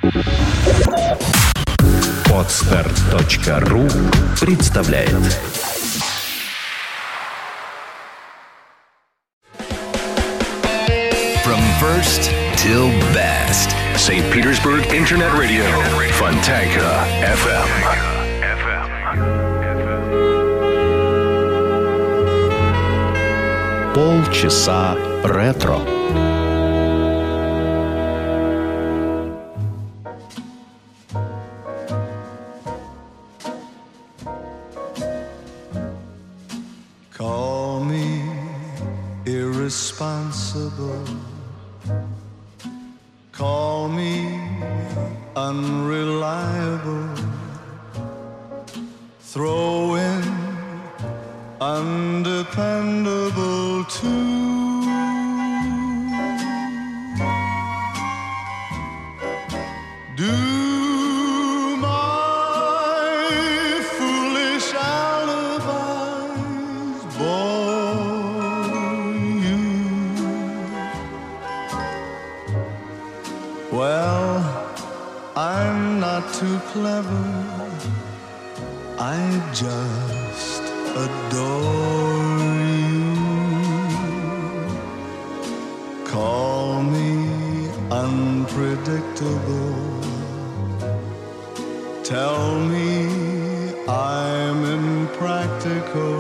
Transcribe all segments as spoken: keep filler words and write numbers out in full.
Подстер точка ру представляет. From first till best. Saint Petersburg Internet Radio. Fontanka эф эм. Полчаса ретро. Call me irresponsible. Call me unreliable. Throw in undependable too. Do my foolish alibis bore you? Well, I'm not too clever. I just adore you. Call me unpredictable. Tell me I'm impractical.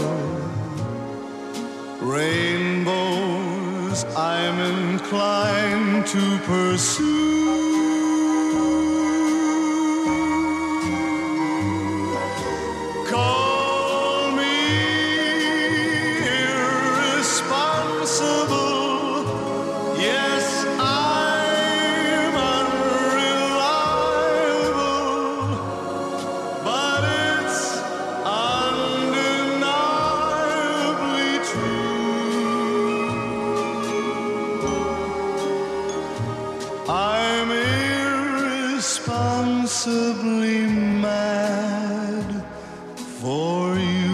Rainbows I'm inclined to pursue. Irresponsibly mad for you.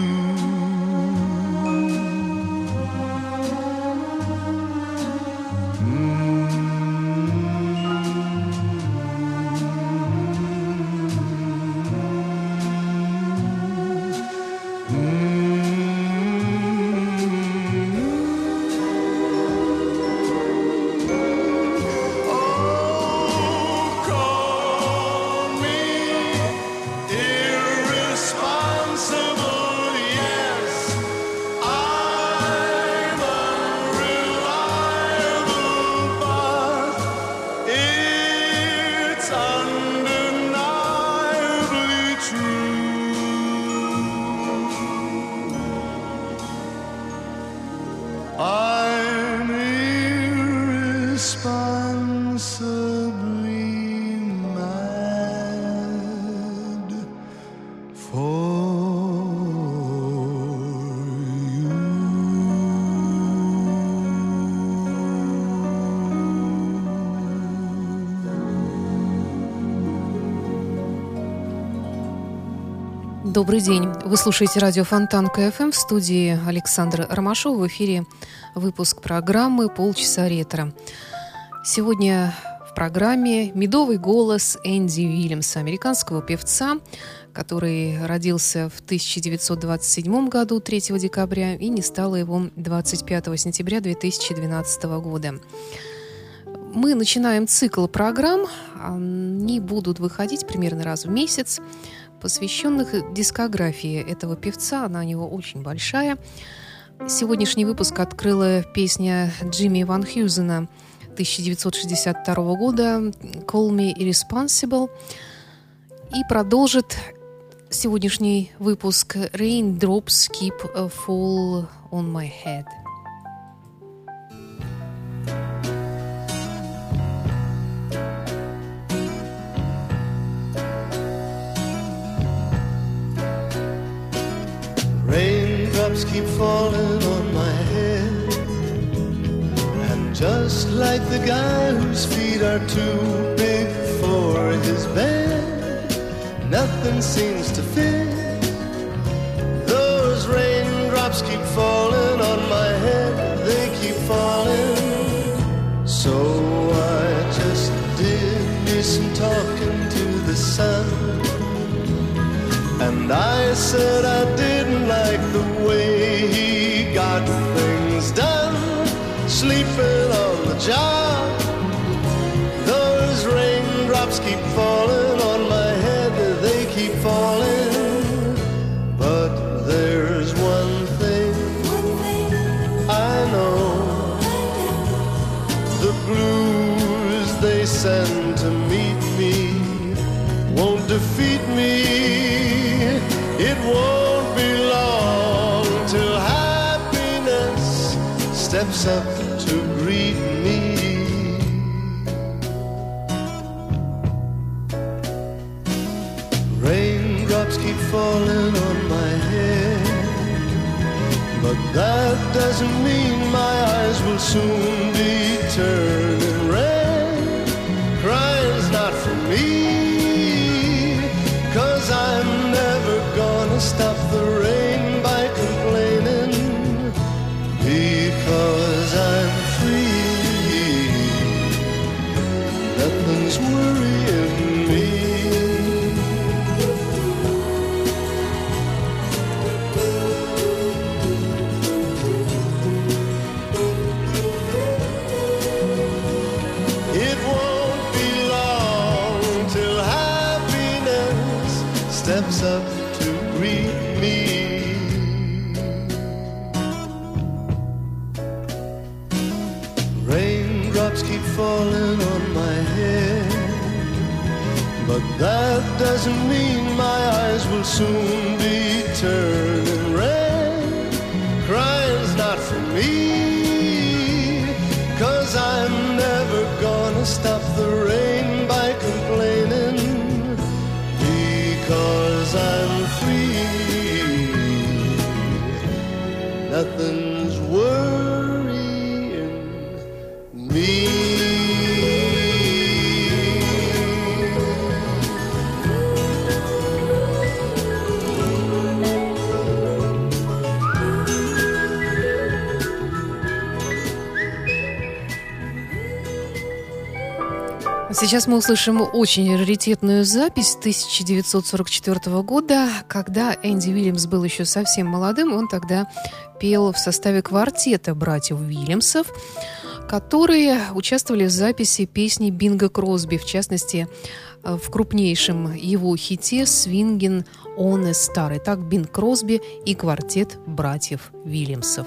I'm irresponsibly mad for you. Добрый день. Вы слушаете радио Фонтанка эф эм, в студии Александра Ромашова. В эфире выпуск программы «Полчаса ретро». Сегодня в программе медовый голос Энди Уильямса, американского певца, который родился в тысяча девятьсот двадцать седьмом году, третьего декабря, и не стало его двадцать пятого сентября две тысячи двенадцатого года. Мы начинаем цикл программ. Они будут выходить примерно раз в месяц, посвященных дискографии этого певца. Она у него очень большая. Сегодняшний выпуск открыла песня Джимми Ван Хьюзена тысяча девятьсот шестьдесят второго года «Call Me Irresponsible». И продолжит сегодняшний выпуск «Raindrops Keep a Fall on My Head». Raindrops keep falling on my head, and just like the guy whose feet are too big for his bed, nothing seems to fit. Those raindrops keep falling on my head, they keep falling. So I just did me some talking talking to the sun. And I said I didn't like the way he got things done, sleeping on the job. Those raindrops keep falling on my head, they keep falling. But there's one thing I know, the blues they send to meet me won't defeat me. It won't be long till happiness steps up to greet me. Raindrops keep falling on my head, but that doesn't mean my eyes will soon be turning red. Crying's not for me, 'cause I'm never gonna stop the rain by complaining, because I'm free. Nothing's worrying me. It won't be long till happiness steps up to greet me. Raindrops keep falling on my head, but that doesn't mean my eyes will soon be turning red. Crying's not for me, 'cause I'm never gonna stop the rain by complaining, because I'm free. Nothing's worrying me. Сейчас мы услышим очень раритетную запись тысяча девятьсот сорок четвёртого года, когда Энди Уильямс был еще совсем молодым. Он тогда пел в составе квартета братьев Уильямсов, которые участвовали в записи песни Бинга Кросби, в частности, в крупнейшем его хите «Swingin' on a Star». Итак, Бинг Кросби и квартет братьев Уильямсов.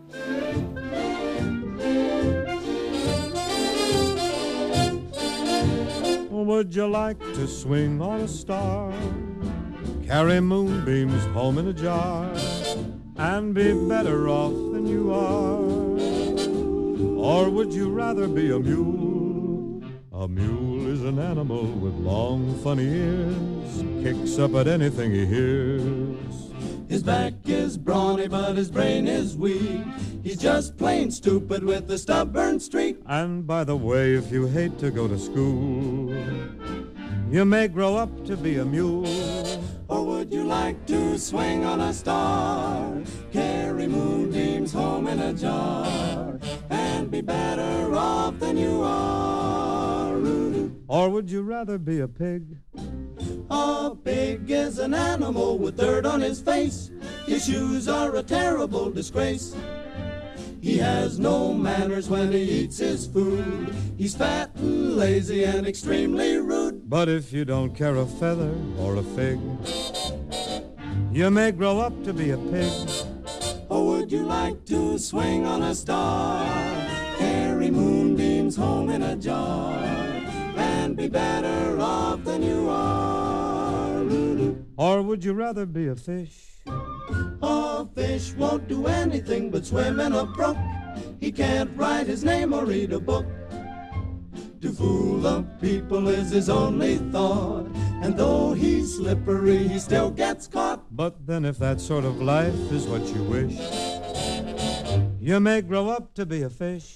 Would you like to swing on a star, carry moonbeams home in a jar, and be better off than you are? Or would you rather be a mule? A mule is an animal with long, funny ears, kicks up at anything he hears. His back is brawny, but his brain is weak. He's just plain stupid with a stubborn streak. And by the way, if you hate to go to school, you may grow up to be a mule. Or would you like to swing on a star, carry moonbeams home in a jar, and be better off than you are? Or would you rather be a pig? A pig is an animal with dirt on his face. His shoes are a terrible disgrace. He has no manners when he eats his food. He's fat and lazy and extremely rude. But if you don't care a feather or a fig, you may grow up to be a pig. Or would you like to swing on a star, carry moonbeams home in a jar, and be better off than you are? Or would you rather be a fish? A fish won't do anything but swim in a brook. He can't write his name or read a book. To fool the people is his only thought, and though he's slippery, he still gets caught. But then if that sort of life is what you wish, you may grow up to be a fish.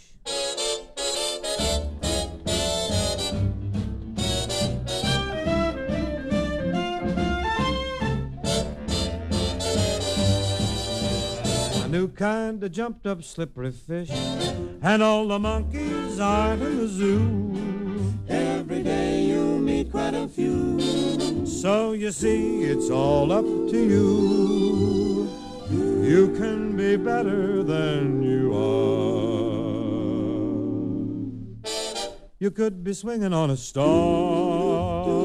New kind of jumped up slippery fish, and all the monkeys are in the zoo. Every day you meet quite a few. So you see, it's all up to you. You can be better than you are. You could be swinging on a star.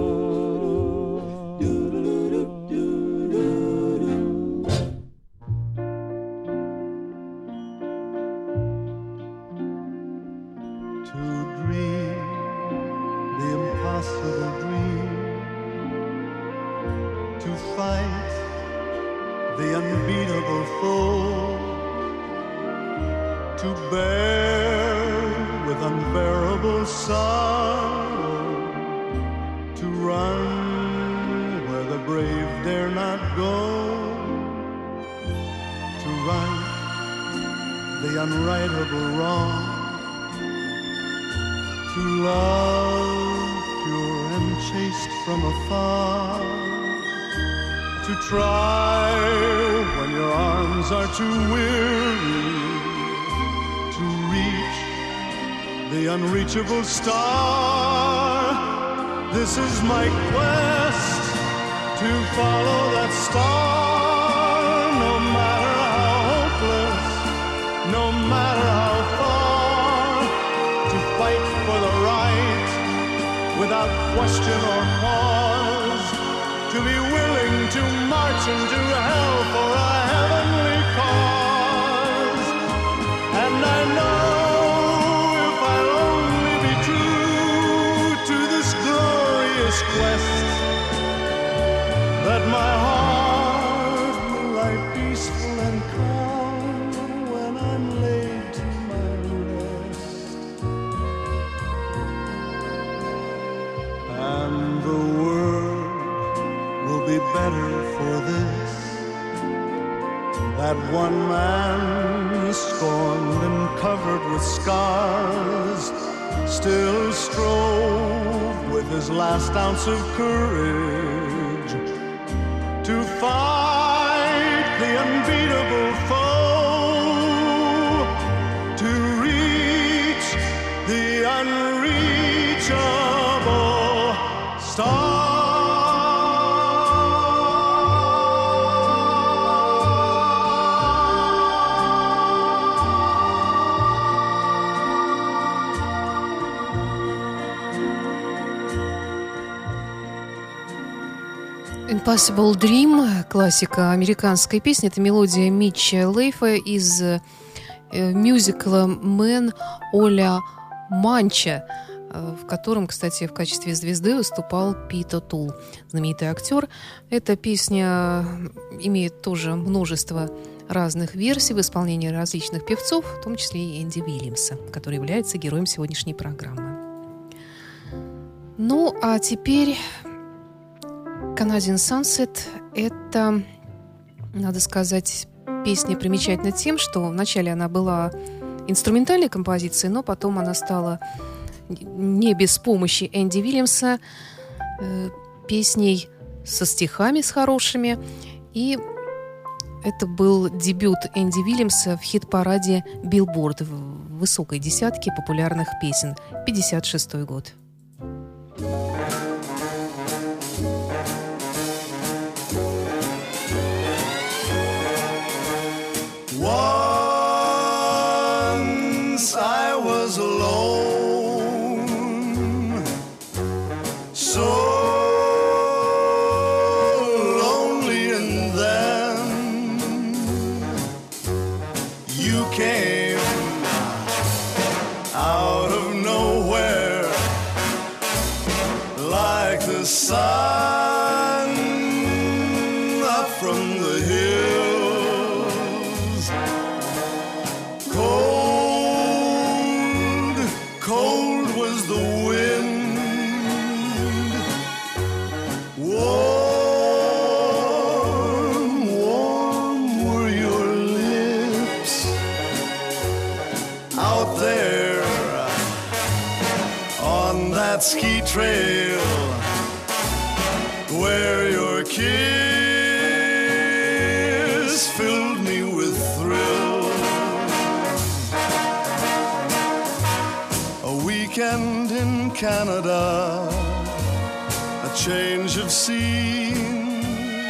Unrightable wrong, to love pure and chaste from afar, to try when your arms are too weary, to reach the unreachable star. This is my quest, to follow that star, no matter how hopeless, no matter how far, to fight for the right without question or pause, to be willing to march into hell for a heavenly cause. And I know if I'll only be true to this glorious quest, that my heart will lie peaceful and calm when I'm laid to my rest. And the world will be better for this, that one man scorned and covered with scars still strove with his last ounce of courage to fight the unbeatable foe, to reach the unreachable star. Impossible Dream, классика американской песни. Это мелодия Митча Лейфа из э, мюзикла «Мэн О'Ля Манча», э, в котором, кстати, в качестве звезды выступал Пит О'Тул, знаменитый актер. Эта песня имеет тоже множество разных версий в исполнении различных певцов, в том числе и Энди Уильямса, который является героем сегодняшней программы. Ну, а теперь Canadian Sunset – это, надо сказать, песня примечательна тем, что вначале она была инструментальной композицией, но потом она стала не без помощи Энди Уильямса э, песней со стихами, с хорошими. И это был дебют Энди Уильямса в хит-параде Billboard в высокой десятке популярных песен. пятьдесят шестой год. Once I was alone, so lonely, and then you came out of nowhere like the sun up from the hill. Cold was the wind, warm, warm were your lips out there on that ski trail where your kiss filled me with thrill. A weekend in Canada change of scene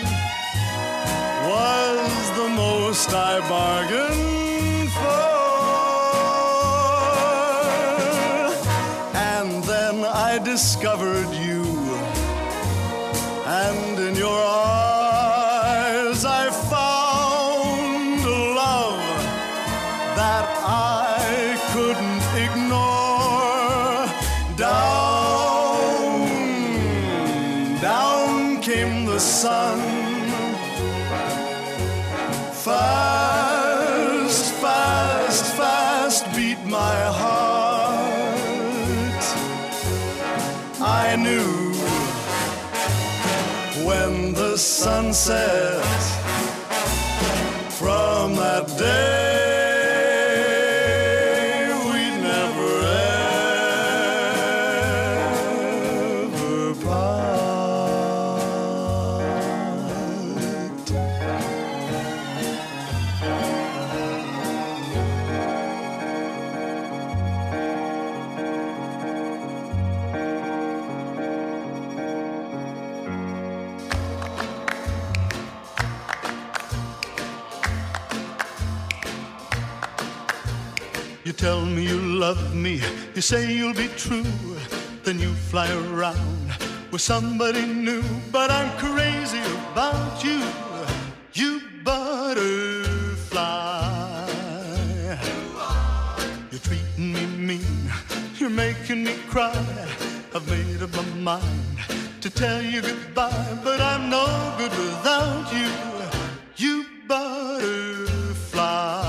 was the most I bargained for. And then I discovered you, and in your eyes I found a love that I couldn't ignore. Down, down came the sun. Fast, fast, fast beat my heart. I knew when the sun set from that day we'd never ever part. You tell me you love me, you say you'll be true, then you fly around with somebody new. But I'm crazy about you, you butterfly. You're treating me mean, you're making me cry. I've made up my mind to tell you goodbye, but I'm no good without you, you butterfly.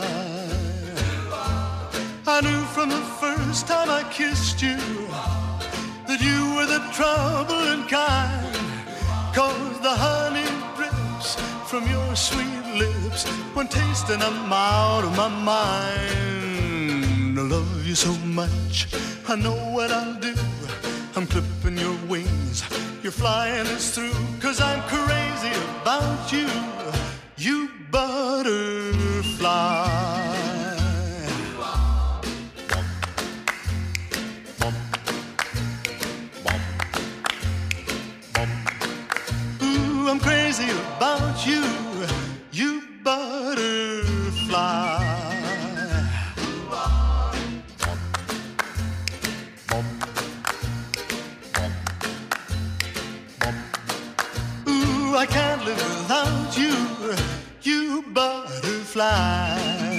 I knew from the first time I kissed you that you were the troubling kind, 'cause the honey drips from your sweet lips. When tasting I'm out of my mind. I love you so much, I know what I'll do. I'm clipping your wings, you're flying us through, 'cause I'm crazy about you, you butterfly. I'm crazy about you, you butterfly. Ooh, I can't live without you, you butterfly.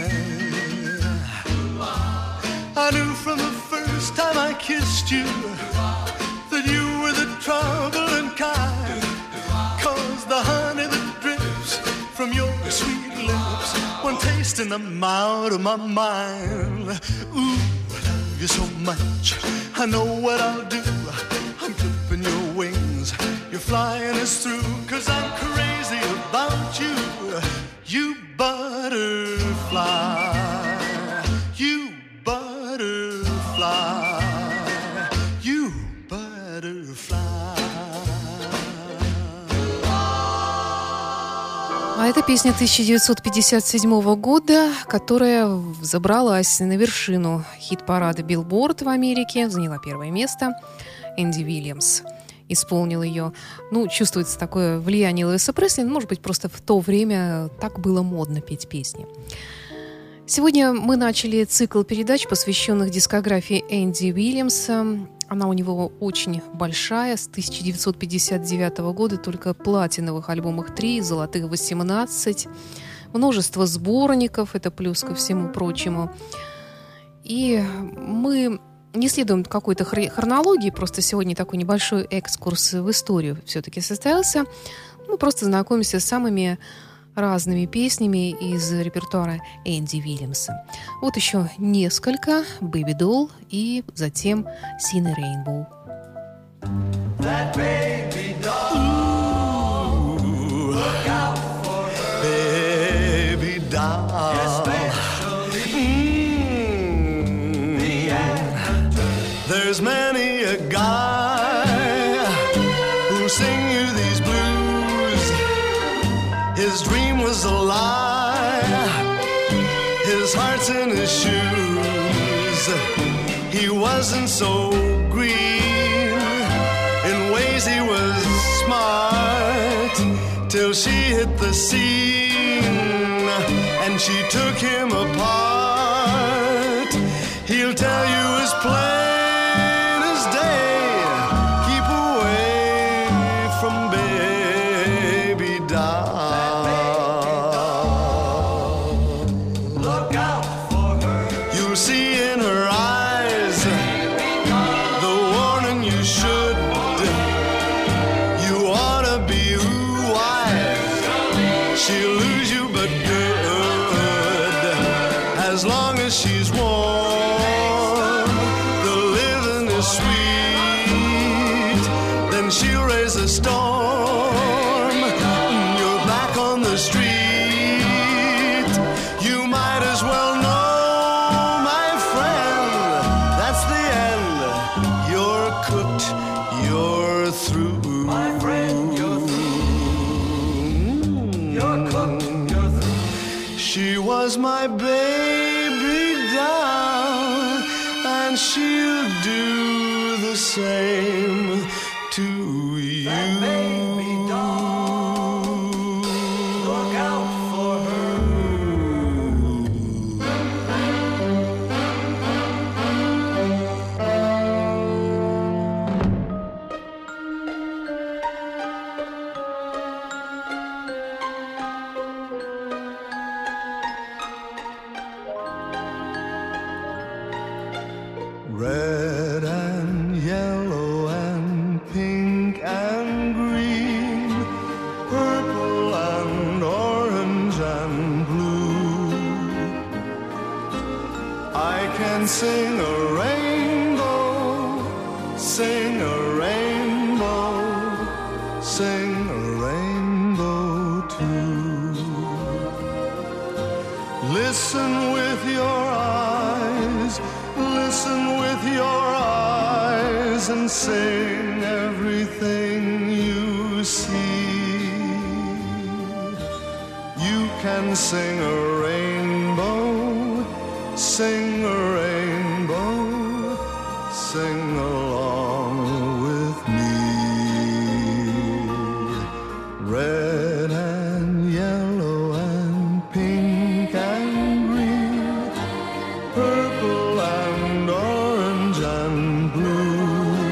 I knew from the first time I kissed you that you were the troubling kind, 'cause the honey that drips from your sweet lips, when tasting I'm out of my mind. Ooh, I love you so much, I know what I'll do. I'm clipping your wings, you're flying us through, 'cause I'm crazy about you, you butterfly, you butterfly, you butterfly. А это песня тысяча девятьсот пятьдесят седьмого года, которая забралась на вершину хит-парада Billboard в Америке, заняла первое место. Энди Уильямс исполнил ее. Ну, чувствуется такое влияние Элвиса Пресли. Может быть, просто в то время так было модно петь песни. Сегодня мы начали цикл передач, посвященных дискографии Энди Уильямса. Она у него очень большая, с тысяча девятьсот пятьдесят девятого года только платиновых альбомов три, золотых восемнадцать, множество сборников, это плюс ко всему прочему. И мы не следуем какой-то хронологии, просто сегодня такой небольшой экскурс в историю все-таки состоялся. Мы просто знакомимся с самыми разными песнями из репертуара Энди Уильямса. Вот еще несколько: «Baby Doll» и затем «Seen a Rainbow». That baby doll, ooh, look out for her, baby doll, especially mm, the actor. There's many a guy who'll sing you these blues. His dream was a lie, his heart's in his shoes. He wasn't so green in ways Daisy was smart till she hit the scene and she took him apart. He'll tell you as plain as day, keep away from baby doll. Look out for her. You'll see in her eyes the warning you should. You ought to be wise. She'll lose you but good. As long as she's warm, the living is sweet. Then she'll raise a storm. You're back on the street. You might as well know, my friend, that's the end. You're cooked, you're through. My friend, you're through. You're cooked, you're through. She was my baby doll, and she'll do the same to you. That baby doll. Look out for her. Red and yellow and pink and green, purple and orange and blue. I can sing a rainbow, sing a rainbow, sing a rainbow too. Listen with your eyes, listen with your eyes and sing everything you see. You can sing a rainbow, sing a rainbow, sing along with me. Red and yellow and pink and green, purple and orange and blue.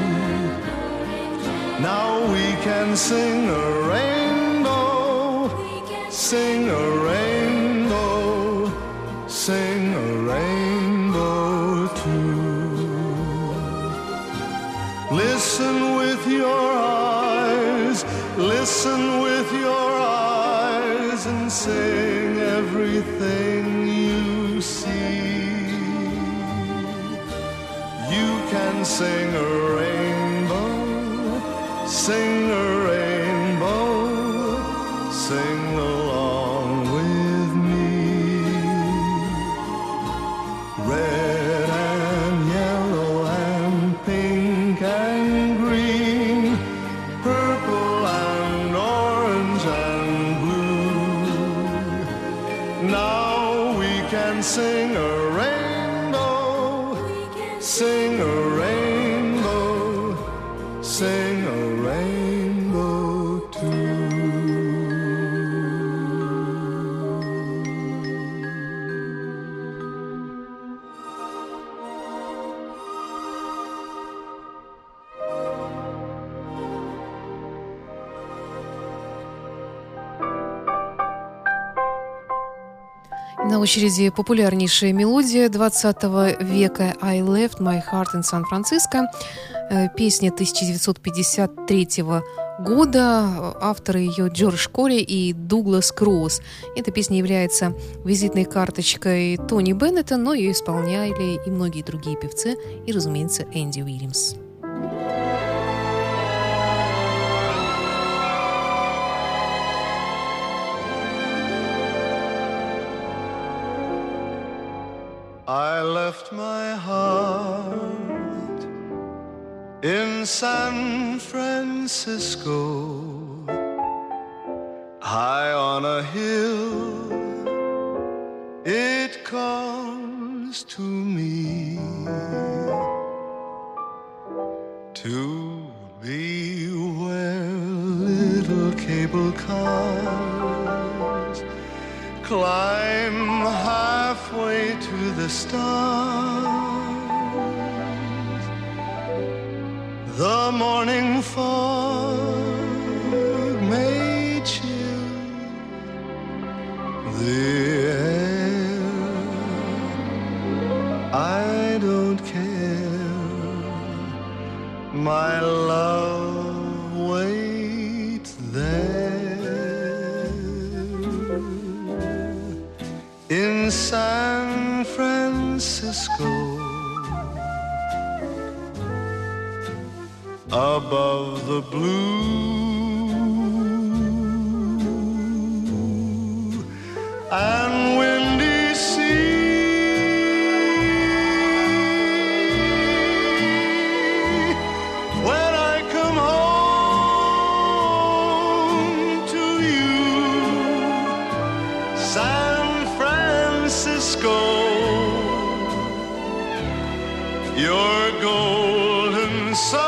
Now we can sing a rainbow, sing a rainbow, sing a rainbow too. Listen with your eyes, listen with your eyes and sing everything you see. You can sing a rainbow, sing a rainbow, sing along with me. Red and yellow and pink and green, purple and orange and blue. Now we can sing a rainbow, sing a rainbow, sing a rainbow too. На очереди популярнейшая мелодия двадцатого века «I left my heart in San Francisco», песня тысяча девятьсот пятьдесят третьего года, авторы ее Джордж Кори и Дуглас Кроуз. Эта песня является визитной карточкой Тони Беннета, но ее исполняли и многие другие певцы, и, разумеется, Энди Уильямс. I left my heart in San Francisco, high on a hill. It calls to me to be little cable cars climb halfway to the stars. The morning fog may chill the air. I don't care, my love waits there. In San Francisco, above the blue and windy sea, when I come home to you, San Francisco, your golden sun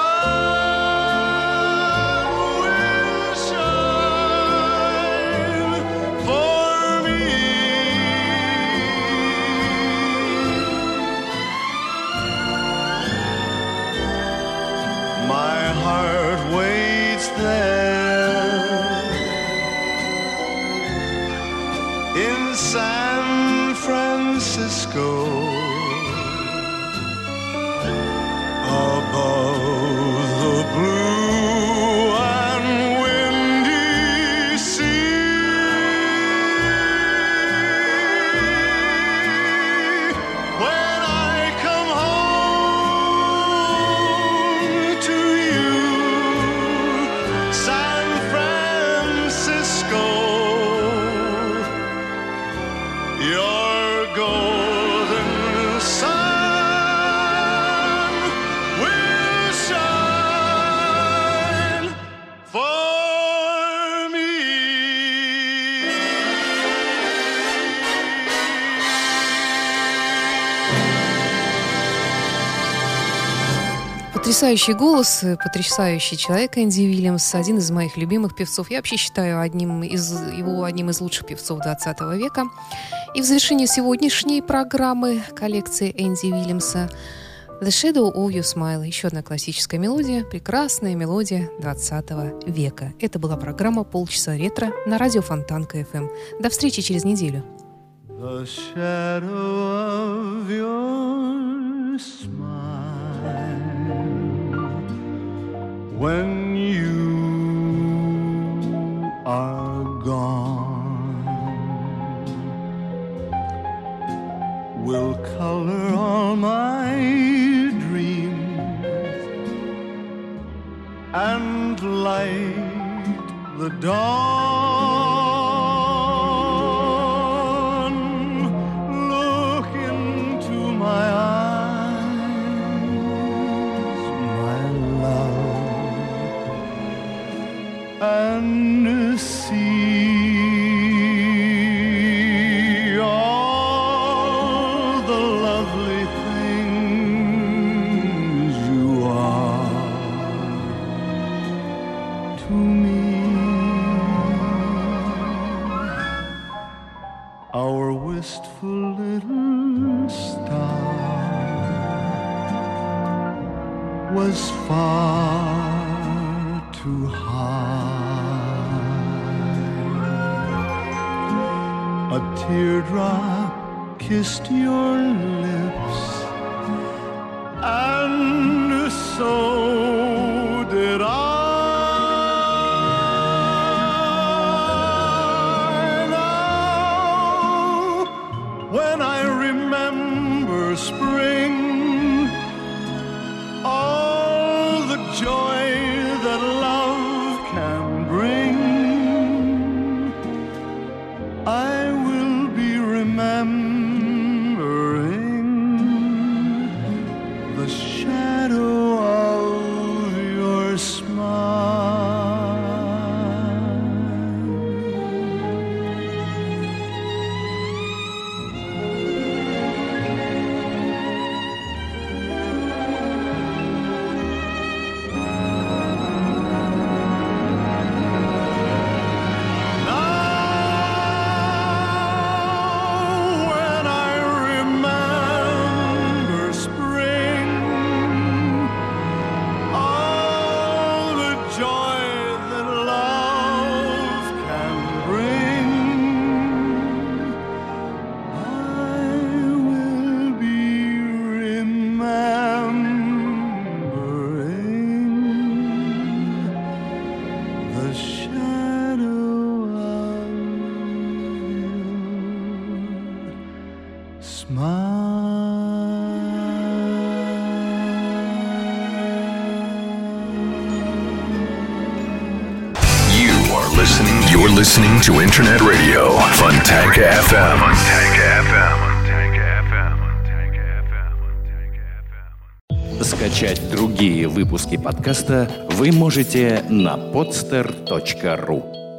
Потрясающий голос, потрясающий человек Энди Уильямс, один из моих любимых певцов. Я вообще считаю одним из, его одним из лучших певцов двадцатого века. И в завершении сегодняшней программы коллекции Энди Уильямса «The Shadow of Your Smile». Еще одна классическая мелодия, прекрасная мелодия двадцатого века. Это была программа «Полчаса ретро» на радио Фонтанка эф эм. До встречи через неделю. The shadow of your smile, when you are gone, will color all my dreams and light the dawn. Look into my eyes, my love, and see all the lovely things you are to me. Our wistful little star was far too high. A teardrop kissed your lips, and so did I. Now, when I remember spring, all the joy that love can bring, I will be remembering the shadow of the shadow of your smile. You are listening. You're listening to Internet Radio Fontanka эф эм. Fontanka эф эм. Скачать другие выпуски подкаста вы можете на podster точка ру.